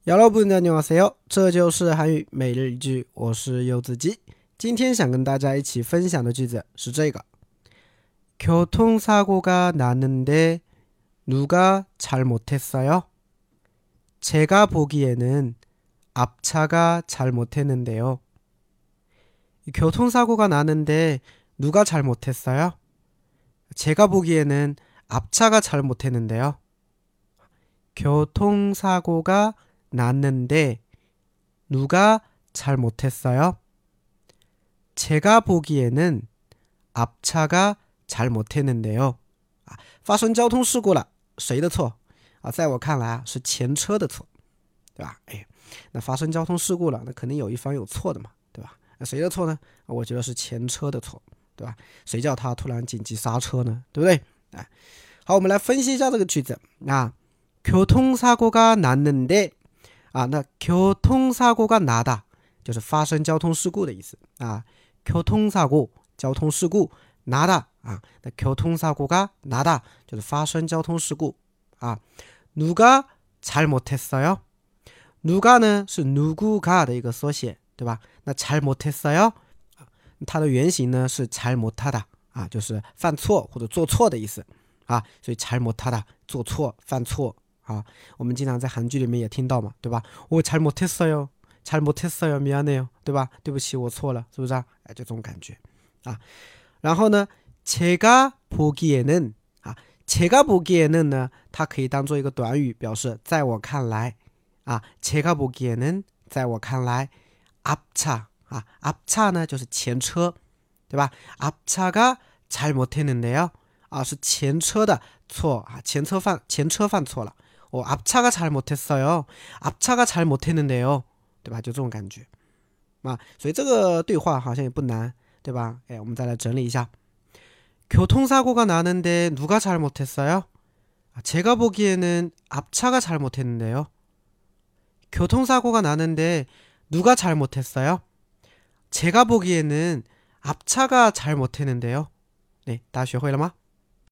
여러분 안녕하세요，这就是韩语每日一句，我是柚子鸡。今天想跟大家一起分享的句子是这个：교통사고가 났는데 누가 잘못했어요? 제가 보기에는 앞차가 잘못했는데요. 교통사고가 났는데 누가 잘못했어요? 제가 보기에는 앞차가 잘못했는데요. 교통사고가 났는데 누가 잘못했어요? 제가 보기에는 앞차가 잘못했는데요. 发生交通事故了，谁的错？在我看来是前车的错，对吧？那发生交通事故了，那肯定有一方有错的嘛，对吧？那谁的错呢？我觉得是前车的错，对吧？谁叫他突然紧急刹车呢？对不对？好，我们来分析一下这个句子啊。교통사고가 났는데那교통사고가 나다就是发生交通事故的意思啊。교통사고交通事故나다那교통사고가 나다就是发生交通事故啊。누가 잘못했어요? 누가呢是누구가的一个缩写，对吧？那잘못했어요它的原型呢是잘못하다就是犯错或者做错的意思所以잘못하다做错犯错我们经常在韩剧里面也听到嘛，对吧？我잘못했어요，미안해요，对吧？对不起，我错了，是不是就这种感觉然后呢，제가 보기에는 제가 보기에는呢，它可以当做一个短语，表示在我看来제가 보기에는在我看来앞차 앞차呢就是前车，对吧？앞차가 잘못했는데요是前车的错前车犯错了。앞차가 잘못했어요， 앞차가 잘못했는데요， 对吧？就这种感觉所以这个对话好像也不难，对吧？我们再来整理一下。교통사고가 나는데 누가 잘못했어요? 제가 보기에는 앞차가 잘못했는데요. 교통사고가 나는데 누가 잘못했어요? 제가 보기에는 앞차가 잘못했는데요. 네, 다 学会了吗？